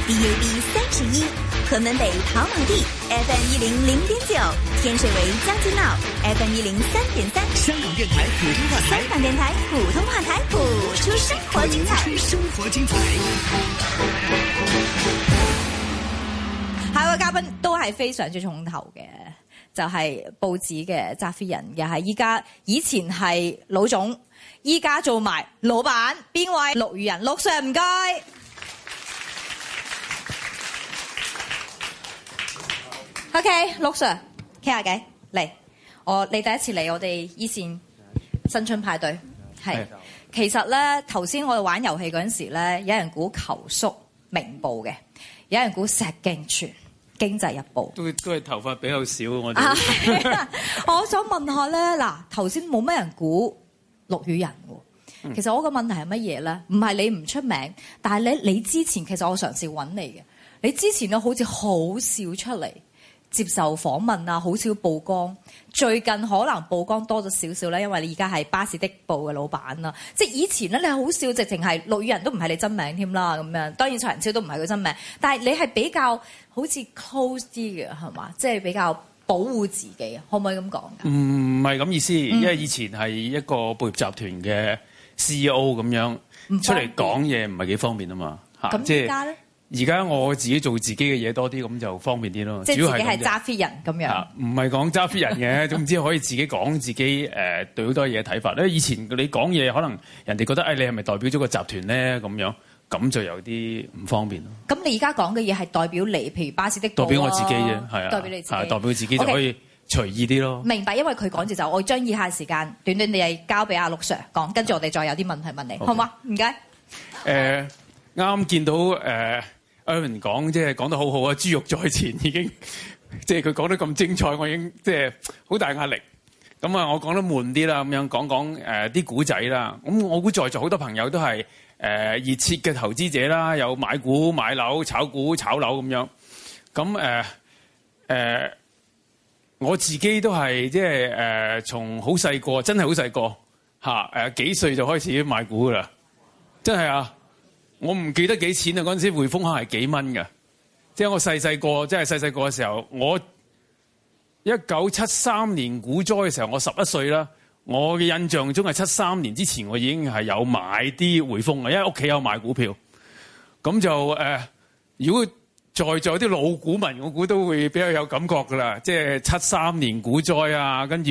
DAB 31，河门北跑马地 FM 100.9，天水围将军澳 FM 103.3， 香港电台普通话台， 香港电台普通话台，谱出生活精彩， 生活精彩。 下一位嘉賓都係非常之重頭嘅，就係、報紙嘅揸 fit 人，又係以前係老總，依家做埋老闆，邊位？陸羽仁，陸 Sir 唔該。OK， 陸 Sir 傾下偈嚟，你第一次嚟我哋依線新春派對，係其實咧頭先我哋玩遊戲嗰陣時咧，有人估球叔明報嘅，有人估石鏡泉經濟日報， 都係頭髮比較少我哋。 我想問下咧，嗱頭先冇乜人估陸羽仁喎，其實我個問題係乜嘢咧？唔係你唔出名，但係你之前其實我嘗試揾你嘅，你之前咧好似好少出嚟接受訪問啊，好少曝光。最近可能曝光多咗少少咧，因為你而家係巴士的報嘅老闆啦。即係以前咧，你係好少，直情係陸羽仁都唔係你真名添啦咁樣。當然蔡仁超都唔係佢真名，但係你係比較好似 close 啲嘅係嘛？即係比較保護自己，可唔可以咁講？ 唔係咁意思，因為以前係一個報業集團嘅 CEO 咁樣出嚟講嘢，唔係幾方便啊嘛。 咁即而家咧？ 而家我自己做自己嘅嘢多啲，咁就方便啲咯。 即係自己係揸 fit 人咁樣。 唔係講揸 fit 人嘅，總之可以自己講自己對好多嘢睇法。因為以前你講嘢，可能人哋覺得你係咪代表咗個集團咧咁樣，咁就有啲唔方便咯。咁你而家講嘅嘢係代表你，譬如巴士的報代表我自己啫，係啊， 代表你自己， 代表自己就可以隨意啲咯。 明白，因為佢講住就我將以下時間短短地係交俾阿陸 Sir 講，跟住我哋再有啲問題問你，好嗎？唔該。 啱見到Erwin 講即係講得好好啊！豬肉在前已經即係佢講得咁精彩，我已經即係好大壓力。咁啊，我講得悶啲啦，咁樣講講啲古仔啦。咁我估在座好多朋友都係熱切嘅投資者啦，有買股買樓、炒股炒樓咁樣。咁我自己都係即係從好細個，真係好細個嚇幾歲就開始買股噶啦，真係啊！我唔記得幾錢啊！嗰陣時匯豐可能係幾蚊㗎，即係我細細個，即係細細個嘅時候，我1973年股災嘅時候，我11歲啦。我嘅印象中係73年之前，我已經係有買啲匯豐嘅，因為屋企有買股票。咁就如果在座啲老股民，我估都會比較有感覺㗎啦。即係73年股災啊，跟住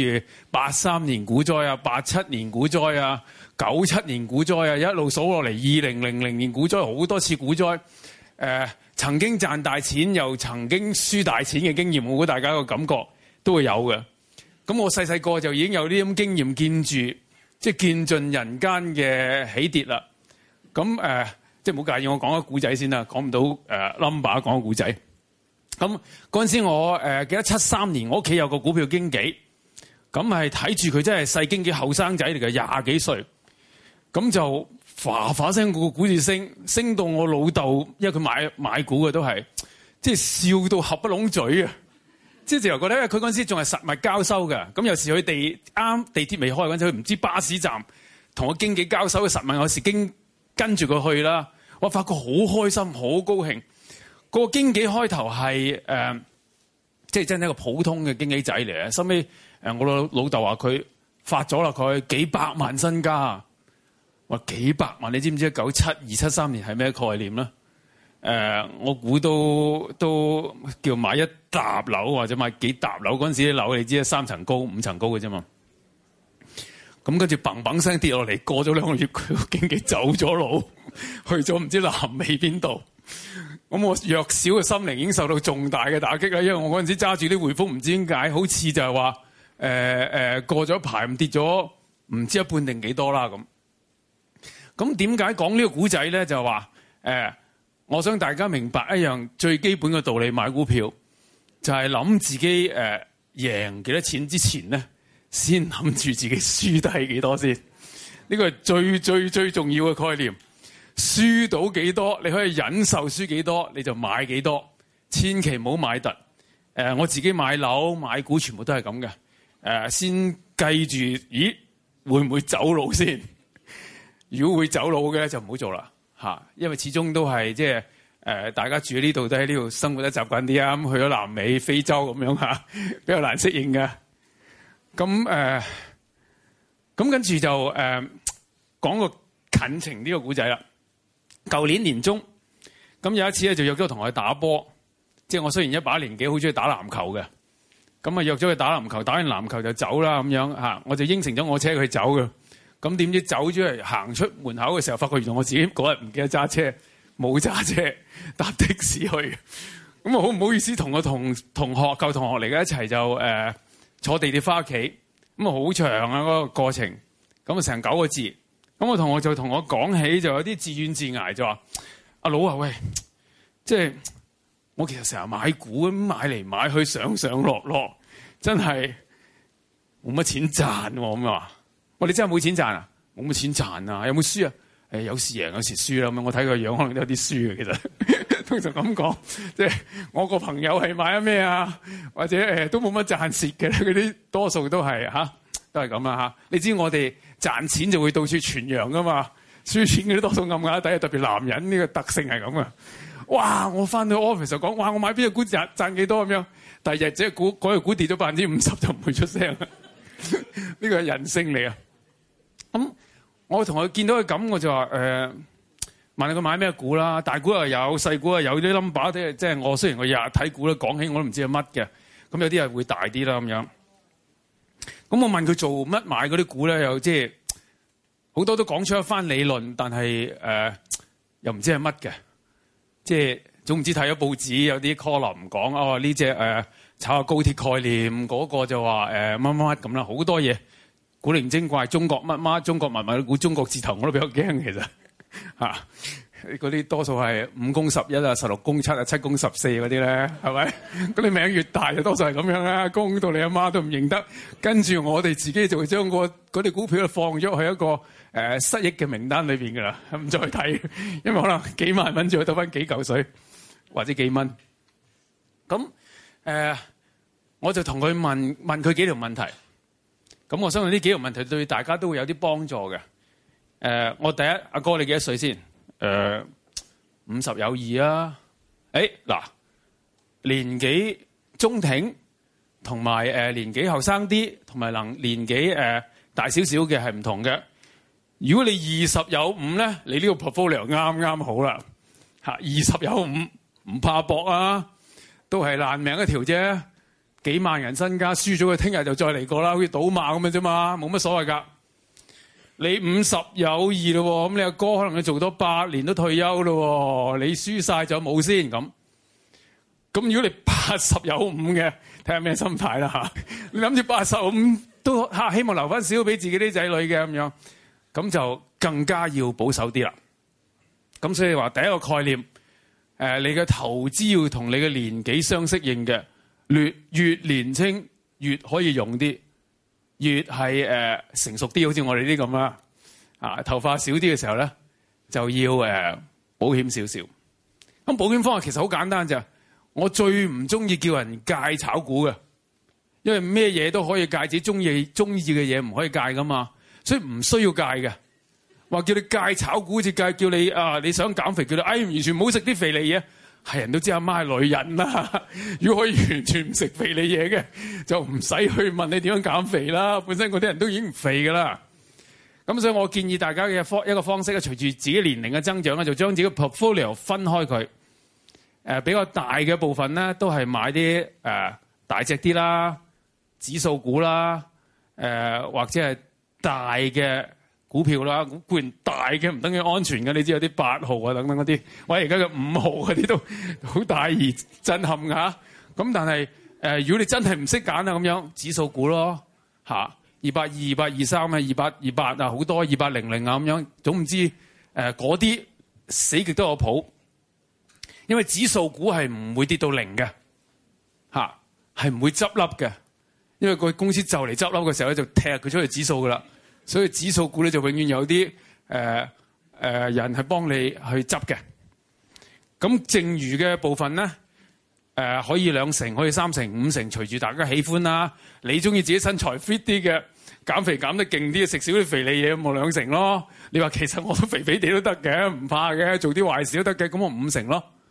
83年股災啊，87年股災啊。97年股災啊，一路數落嚟，2000年股災，好多次股災，曾經賺大錢又曾經輸大錢嘅經驗，我估大家個感覺都會有嘅。咁我細細個就已經有啲咁經驗，見住即係見盡人間嘅起跌啦。咁即係唔好介意我講個故仔先啦，講唔到number 講個故仔。咁嗰陣時我記得73年，我屋企有個股票經紀，咁係睇住佢真係細經紀後生仔嚟嘅，20幾歲。咁就嘩嘩聲個股市升到我老豆，因為佢買股嘅都係，即係笑到合不攏嘴啊！即係直頭覺得，因為佢嗰陣時仲係實物交收嘅，咁有時佢地鐵未開嗰陣時，佢唔知巴士站同個經紀交收嘅實物，有時跟住佢去啦，我發覺好開心，好高興。個經紀開頭係即係真係一個普通嘅經紀仔嚟嘅，收尾我老豆話佢發咗啦，佢幾百萬身家。話幾百萬，你知唔知1972、73年係咩概念咧？我估都叫買一沓樓或者買幾沓樓，嗰陣時啲樓你知3層高、5層高嘅啫嘛。咁跟住砰砰聲跌落嚟，過咗2個月，佢個經紀走咗路，去咗唔知南美邊度。咁我弱小嘅心靈已經受到重大嘅打擊啦，因為我嗰陣時揸住啲匯豐，唔知點解好似就係話過咗一排跌咗唔知一半定幾多啦咁。咁點解講呢個古仔咧？就係話我想大家明白一樣最基本嘅道理，買股票就係諗自己贏幾多錢之前咧，先諗住自己輸低幾多先。呢個係最重要嘅概念。輸到幾多，你可以忍受輸幾多，你就買幾多，千祈唔好買突。我自己買樓買股全部都係咁嘅。先計住，咦會唔會走路先？如果會走佬嘅就唔好做啦嚇，因為始終都係即係大家住喺呢度都喺呢度生活得習慣啲啊，咁去咗南美、非洲咁樣嚇，比較難適應嘅。咁跟住就講個近情呢個古仔啦。舊年年中，咁有一次咧就約咗個同學去打波，即係我雖然一把年紀好中意打籃球嘅，咁啊約咗佢打籃球，打完籃球就走啦咁樣嚇，我就應承咗我車佢走嘅。咁點知走咗嚟行出門口嘅時候，發覺原來我自己嗰日唔記得揸車，冇揸車，搭的士去。咁啊好唔好意思同個舊同學嚟嘅一齊就坐地鐵翻屋企。咁啊好長啊嗰個過程，咁啊成9個字。咁我同學就同我講起，就有啲自怨自艾，就話：阿佬啊，喂，即係我其實成日買股咁買嚟買去上上落落，真係冇乜錢賺喎。咁話：我哋真係冇錢賺啊？冇乜錢賺啊？有冇輸啊？有時贏有時輸啦。咁我睇個樣可能都有啲輸嘅，其實通常咁講，即係我個朋友係買咗咩啊？或者都冇乜賺蝕嘅，嗰啲多數都係都係咁啦嚇。你知我哋賺錢就會到處傳揚噶嘛，輸錢嗰啲多數暗啞底，特別男人呢個特性係咁啊！哇！我翻到 office 就講，哇！我買邊隻股賺幾多咁樣，第二日隻股嗰隻股跌咗50%就唔會出聲啦。呢個係人性嚟啊！咁我同佢見到佢咁，我就話問佢買咩股啦，大股又有，細股又有啲 number，即係我雖然我日日睇股咧，講起我都唔知係乜嘅，咁有啲係會大啲啦咁樣。咁我問佢做乜買嗰啲股咧，又即係好多都講出一番理論，但係又唔知係乜嘅，即係總唔知睇咗報紙有啲 column 講呢隻炒下高鐵概念，嗰個就話乜乜咁啦，好多嘢古靈精怪，中國乜乜，中國密碼股，中國字頭我都比較驚其實嚇，嗰啲多數係5公11啊、16公7啊、7公14嗰啲咧，係咪？咁你名越大就多數係咁樣啦，公到你阿媽都唔認得，跟住我哋自己就會將嗰啲股票放咗去一個失憶嘅名單裏邊㗎啦，唔再睇，因為可能幾萬蚊就會得翻幾嚿水或者幾蚊。咁我就同佢問佢幾條問題。咁我相信呢幾條問題對大家都會有啲幫助嘅。我第一，阿哥你幾多歲先？50有2啊。嗱，年紀中挺同埋年紀後生啲，同埋年紀大少少嘅係唔同嘅。如果你20有5咧，你呢個 portfolio 啱啱好啦。20有5唔怕搏啊，都係爛命一條啫。幾萬人身家輸咗，佢聽日就再嚟過啦，好似賭馬咁樣啫嘛，冇乜所謂㗎。你50有2咯，咁你阿哥可能你做多8年都退休咯，你輸晒就冇先咁。咁如果你80有5嘅，睇下咩心態啦嚇。你諗住85都希望留翻少俾自己啲仔女嘅咁樣，咁就更加要保守啲啦。咁所以話第一個概念，你嘅投資要同你嘅年紀相適應嘅。越年青越可以用啲，越係成熟啲，好似我哋啲咁啦。頭髮少啲嘅時候咧，就要保險少少。咁保險方法其實好簡單咋，我最唔中意叫人戒炒股嘅，因為咩嘢都可以戒，自己中意嘅嘢唔可以戒噶嘛，所以唔需要戒嘅。話叫你戒炒股，好似叫你你想減肥，叫你完全唔好食啲肥膩嘢。係人都知阿媽係女人啦，如果可以完全唔食肥膩嘢嘅，就唔使去問你點樣減肥啦。本身嗰啲人都已經唔肥噶啦。咁所以我建議大家嘅一個方式咧，隨住自己年齡嘅增長咧，就將自己嘅 portfolio 分開佢。比較大嘅部分咧，都係買啲大隻啲啦，指數股啦，或者係大嘅股票啦，固然大嘅唔等於安全嘅，你知有啲8號啊等等嗰啲，或者而家嘅5號嗰啲都好大而震撼㗎。咁但係如果你真係唔識揀啊，咁樣指數股咯220、223啊、228啊，好多2800啊咁樣，總唔知嗰啲死極都有譜，因為指數股係唔會跌到0嘅係唔會執笠嘅，因為個公司就嚟執笠嘅時候咧，就踢佢出去指數㗎啦。所以指數股咧就永遠有啲人係幫你去執嘅。咁剩餘嘅部分咧，可以2成，可以3成、5成，隨住大家喜歡啦。你中意自己身材 fit 啲嘅，減肥減得勁啲，食少啲肥膩嘢，冇2成咯。你話其實我都肥肥地都得嘅，唔怕嘅，做啲壞事都得嘅，咁我5成咯。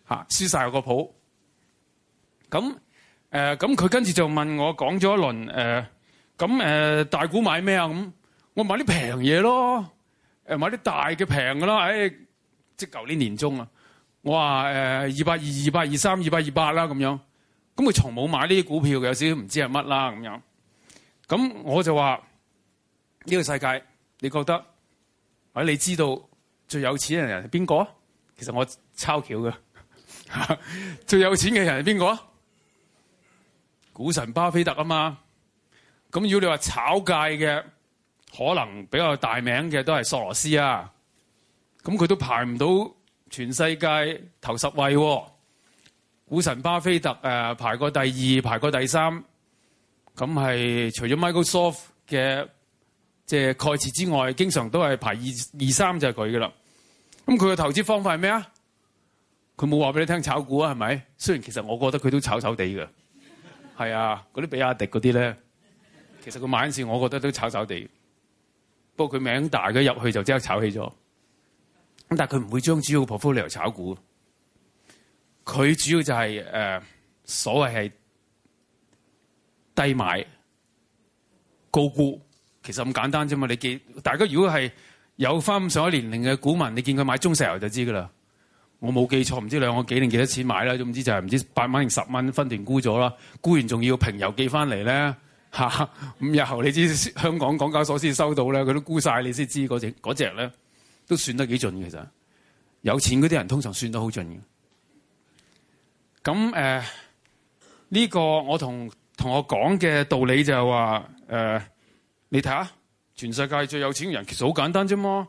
輸晒我個譜。咁佢跟住就問我講咗一輪大股買咩啊？咁我買啲平嘢咯，買啲大嘅平㗎啦。即係舊年年中啊，我話220、223、228啦咁樣。咁佢從冇買呢啲股票嘅，有少少唔知係乜啦咁樣。咁我就話呢個世界，你覺得或者你知道最有錢嘅人係邊個啊？其實我抄橋嘅，最有錢嘅人係邊個啊？股神巴菲特啊嘛。咁如果你話炒界嘅，可能比較大名嘅都係索羅斯啊。咁佢都排唔到全世界頭10位喎。股神巴菲特排過第2，排過第3。咁係除咗 Microsoft 嘅即係蓋茨之外，經常都係排2、3就係佢噶啦。咁佢嘅投資方法係咩啊？佢冇話俾你聽炒股啊，係咪？雖然其實我覺得佢都炒地嘅。係啊，嗰啲比亞迪嗰啲咧，其實佢買嗰陣時，我覺得都炒地。不過佢名大嘅入去就即刻炒起咗。咁但係佢唔會將主要 portfolio 炒股。佢主要就係所謂係低買高沽，其實咁簡單啫嘛。大家如果係有翻咁上一年齡嘅股民，你見佢買中石油就知噶啦。我冇記錯，唔知2個幾定幾多錢買啦，總之就係唔知8蚊定10蚊分段沽咗啦。沽完仲要平郵寄翻嚟咧嚇。5日後你知香港港交所先收到咧，佢都沽晒你先知嗰隻咧都算得幾盡嘅。其實有錢嗰啲人通常算得好盡嘅。咁呢個我同我講嘅道理就係話你睇下全世界最有錢嘅人其實好簡單啫嘛，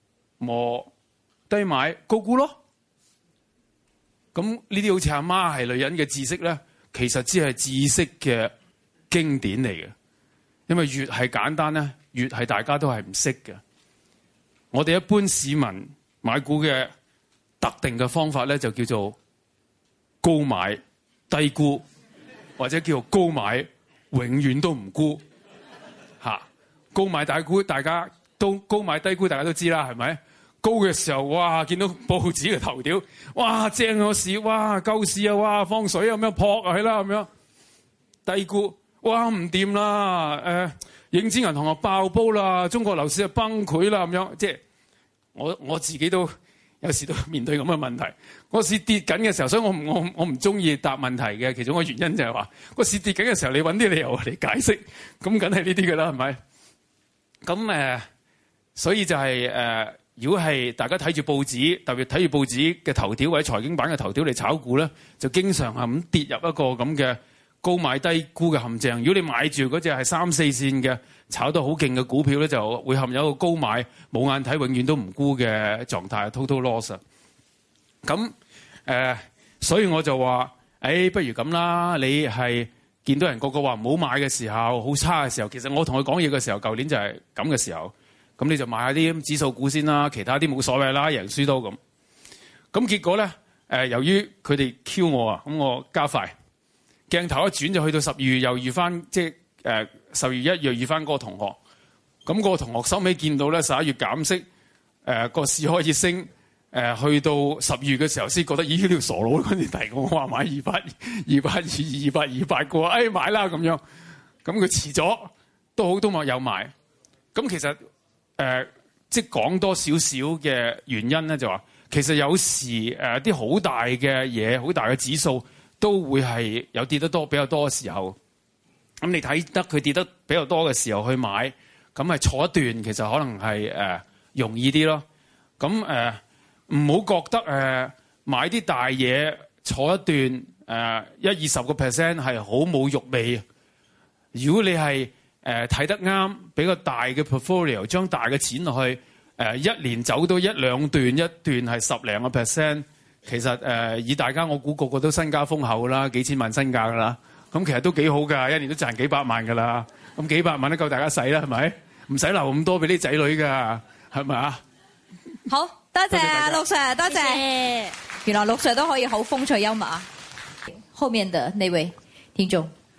低買高沽咯。咁呢啲好似阿媽係女人嘅知識咧，其實只係知識嘅經典嚟嘅。因為越係簡單咧，越係大家都係唔識嘅。我哋一般市民買股嘅特定嘅方法咧，就叫做高買低沽，或者叫做高買永遠都唔沽嚇。高買大沽，大家都高買低沽，大家都知啦，係咪？高嘅時候，哇！見到報紙嘅頭條，哇！正個市，哇！救市啊，哇！放水啊，咁樣撲啊，係啦咁樣。低沽，哇！唔掂啦，影子銀行啊爆煲啦，中國樓市啊崩潰啦，咁樣。即係我自己都有時都面對咁嘅問題。個市跌緊嘅時候，所以我唔中意答問題嘅其中一個原因就係話，個市跌緊嘅時候，你揾啲理由嚟解釋，咁梗係呢啲㗎啦，係咪？咁所以就係如果係大家睇住報紙，特別睇住報紙嘅頭條或者財經版嘅頭條嚟炒股咧，就經常係咁跌入一個咁嘅高買低沽嘅陷阱。如果你買住嗰隻係3、4線嘅炒得好勁嘅股票咧，就會陷入一個高買冇眼睇，永遠都唔沽嘅狀態 ，total loss。咁所以我就話，不如咁啦，你係見到人個個話唔好買嘅時候，好差嘅時候，其實我同佢講嘢嘅時候，舊年就係咁嘅時候。咁你就買下啲指數股先啦，其他啲冇所謂啦，贏輸都咁。咁結果咧，由於佢哋 Q 我啊，咁我加快鏡頭一轉就去到12月，又遇翻即係12月1月遇翻嗰個同學。咁嗰個同學收尾見到咧11月減息，個市開始升，去到12月嘅時候先覺得咦呢條傻佬嗰陣提我話買282、228個，買啦咁樣。咁佢遲咗都好都冇有買。咁其實即係講多少少嘅原因咧，就話其實有時啲好大嘅嘢，好大嘅指數都會係有跌得多比較多嘅時候。咁你睇得佢跌得比較多嘅時候去買，咁係坐一段，其實可能係容易啲咯。咁唔好覺得買啲大嘢坐一段20%係好冇肉味。如果你係睇得啱，比較大嘅 portfolio， 將大嘅錢落去，一年走到1、2段，一段係10零個%，其實以大家我估個個都身家豐厚啦，幾千萬身價噶啦，咁其實都幾好㗎，一年都賺幾百萬㗎啦，咁幾百萬都夠大家使啦，係咪？唔使留咁多俾啲仔女㗎，係咪啊？ 好多謝啊，陸 Sir， 多謝。原來陸 Sir 都可以好風趣幽默啊！後面的那位聽眾。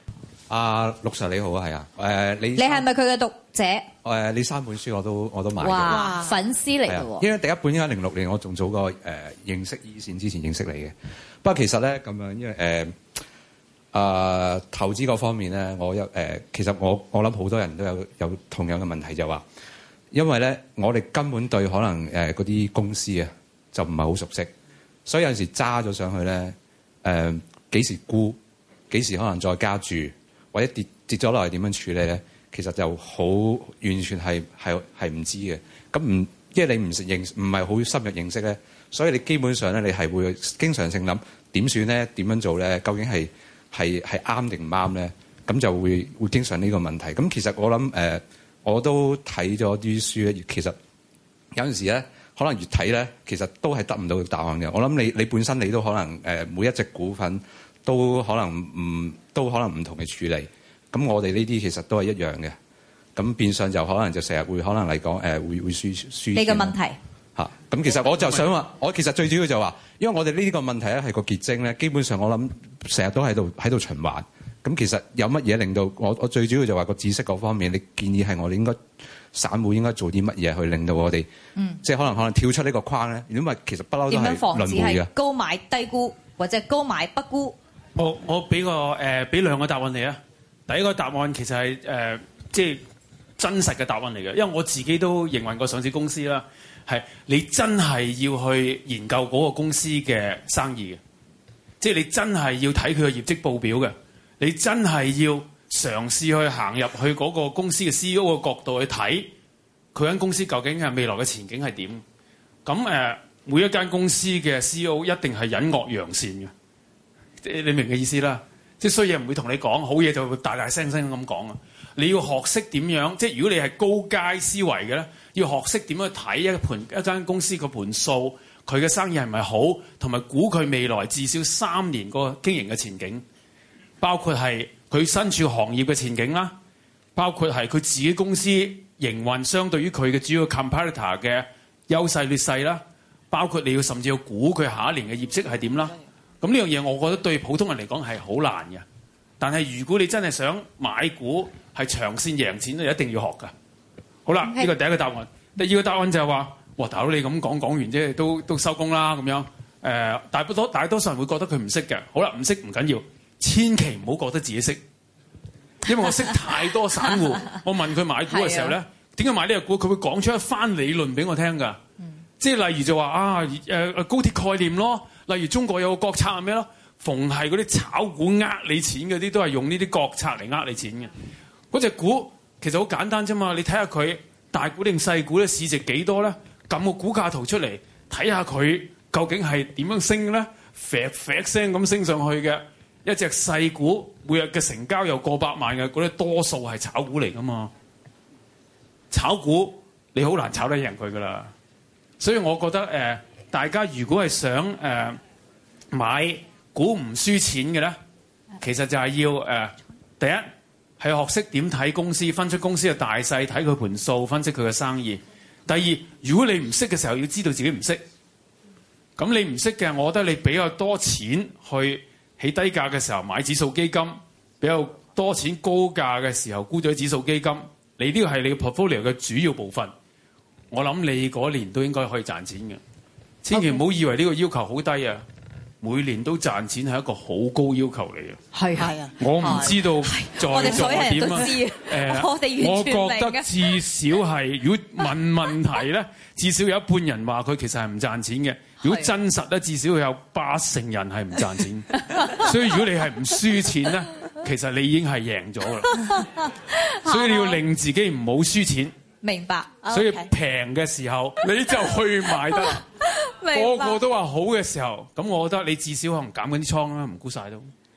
陸 Sir 你好啊，係啊，你係咪佢嘅讀者？ 你3本書我都買咗。 哇，粉絲嚟嘅喎！ 因為第一本應該06年，我仲早過認識依線之前認識你嘅。不過其實咧咁樣，因為投資嗰方面咧，其實我諗好多人都有同樣嘅問題，就話，因為咧我哋根本對可能嗰啲公司啊就唔係好熟悉，所以有陣時揸咗上去咧幾時沽，幾時可能再加注，或者跌咗落嚟點樣處理咧？其實就好完全係唔知嘅。咁因為你唔係好深入認識咧，所以你基本上咧你係會經常性諗點算咧，點樣做咧？究竟係啱定唔啱咧？咁就會經常呢個問題。咁其實我諗我都睇咗啲書咧，其實有陣時咧，可能越睇咧，其實都係得唔到答案嘅。我諗你本身你都可能每一隻股份都可能唔同嘅處理。咁我哋呢啲其實都係一樣嘅，咁變相就可能就成日會可能嚟講會輸。你嘅問題嚇，咁其實我就想話，我其實最主要就話，因為我哋呢個問題咧係個結晶咧，基本上我諗成日都喺度循環。咁其實有乜嘢令到我最主要就話個知識嗰方面，你建議係我哋應該散戶應該做啲乜嘢去令到我哋，即係可能跳出呢個框咧？因為其實不嬲都係輪迴嘅。 高買低沽或者高買不沽。 我俾兩個答案你啊。第一個答案其實係即係真實嘅答案嚟嘅，因為我自己都營運過上市公司啦。係你真係要去研究嗰個公司嘅生意嘅，即係你真係要睇佢嘅業績報表嘅，你真係要嘗試去行入去嗰個公司嘅 CEO 嘅角度去睇佢間公司究竟係未來嘅前景係點。咁每一間公司嘅 CEO 一定係隱惡揚善嘅，你明嘅意思啦。即係衰嘢唔會同你講，好嘢就會大大聲聲咁講啊！你要學識點樣，即係如果你係高階思維嘅咧，要學識點樣睇一間公司個盤數，佢嘅生意係咪好，同埋估佢未來至少3年個經營嘅前景，包括係佢身處行業嘅前景啦，包括係佢自己公司營運相對於佢嘅主要 competitor 嘅優勢劣勢啦，包括你要甚至要估佢下一年嘅業績係點啦。咁呢樣嘢，我覺得對普通人嚟講係好難嘅。但係如果你真係想買股係長線贏錢，你一定要學㗎。好啦，呢個第一個答案。第二個答案就係話：哇，大佬你咁講完啫，都收工啦咁樣。大多數人會覺得佢唔識嘅。好啦，唔識唔緊要，千祈唔好覺得自己識，因為我識太多散戶。我問佢買股嘅時候咧，點解買呢個股？佢會講出一番理論俾我聽㗎。即係例如就話高鐵概念咯。例如中國有個國策係咩咯？逢係嗰啲炒股呃你錢嗰啲，都係用呢啲國策嚟呃你錢嘅。嗰隻股其實好簡單啫嘛，你睇下佢大股定細股咧，市值幾多咧？撳個股價圖出嚟，睇下佢究竟係點樣升咧？啡聲咁升上去嘅一隻細股，每日嘅成交有過百萬嘅，嗰啲多數係炒股嚟噶嘛。炒股你好難炒得贏佢噶啦，所以我覺得大家如果係想買股唔輸錢嘅咧，其實就係要第一係學識點睇公司，分出公司嘅大細，睇佢盤數，分析佢嘅生意。第二，如果你唔識嘅時候，要知道自己唔識。咁你唔識嘅，我覺得你比較多錢去起低價嘅時候買指數基金，比較多錢高價嘅時候沽咗指數基金，你呢個係你嘅 portfolio 嘅主要部分。我諗你嗰年都應該可以賺錢嘅。千祈唔好以為呢個要求好低啊！每年都賺錢係一個好高要求嚟嘅。 係啊， 我唔知道在座點啊。 我覺得至少係，如果問問題咧，至少有一半人話佢其實係唔賺錢嘅。如果真實咧，至少有80%人係唔賺錢。所以如果你係唔輸錢咧，其實你已經係贏咗啦。所以你要令自己唔好輸錢。 明白。 所以平嘅時候你就去買得。個個都話好嘅時候，咁我覺得你至少可能減緊啲倉啦，唔沽晒都。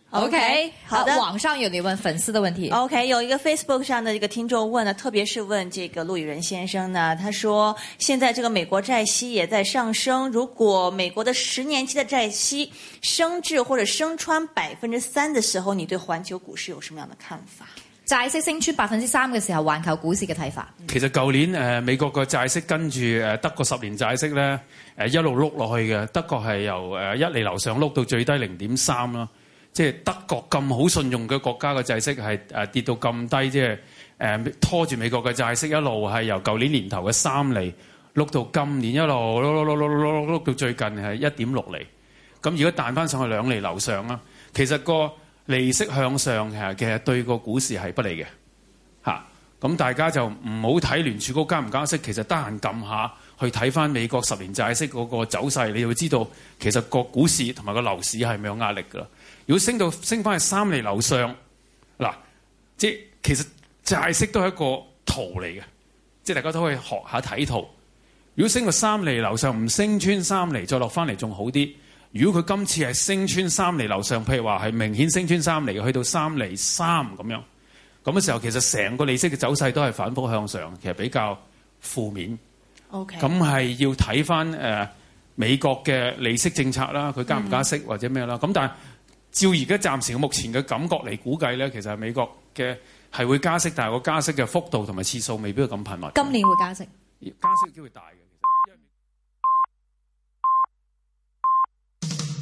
OK， 好的。 網上有你問粉絲的問題。 OK， 有一個 Facebook 上的一個聽眾問呢，特別是問這個陸羽仁先生呢，他說現在這個美國債息也在上升，如果美國的10年期的債息升至或者升穿3%的時候，你對環球股市有什麼樣的看法？ 債息升穿3%嘅時候，環球股市嘅睇法。 其實舊年美國個債息跟住德國10年債息咧一路碌落去嘅，德國係由1厘樓上碌到最低0.3啦。 即係德國咁好信用嘅國家嘅債息係跌到咁低，即係拖住美國嘅債息一路係由舊年年頭嘅3厘碌到今年一路碌到最近係1.6厘。咁如果彈翻上去2厘樓上啦，其實個利息向上其實對個股市係不利嘅嚇。咁大家就唔好睇聯儲局加唔加息，其實得閒撳下去睇翻美國10年債息嗰個走勢，你就會知道其實個股市同埋個樓市係咪有壓力㗎啦。如果升翻去3厘樓上，嗱，即係其實債息都係一個圖嚟嘅，即係大家都可以學下睇圖。如果升到3厘樓上，唔升穿3厘再落翻嚟仲好啲。如果佢今次係升穿3厘樓上，譬如話係明顯升穿3厘，去到3厘3咁樣，咁嘅時候其實成個利息嘅走勢都係反覆向上，其實比較負面。 OK。 咁係要睇翻美國嘅利息政策啦，佢加唔加息或者咩啦。咁但係照而家暫時目前嘅感覺嚟估計咧，其實美國嘅係會加息，但係個加息嘅幅度同埋次數未必會咁頻密。 今年會加息， 加息機會大嘅。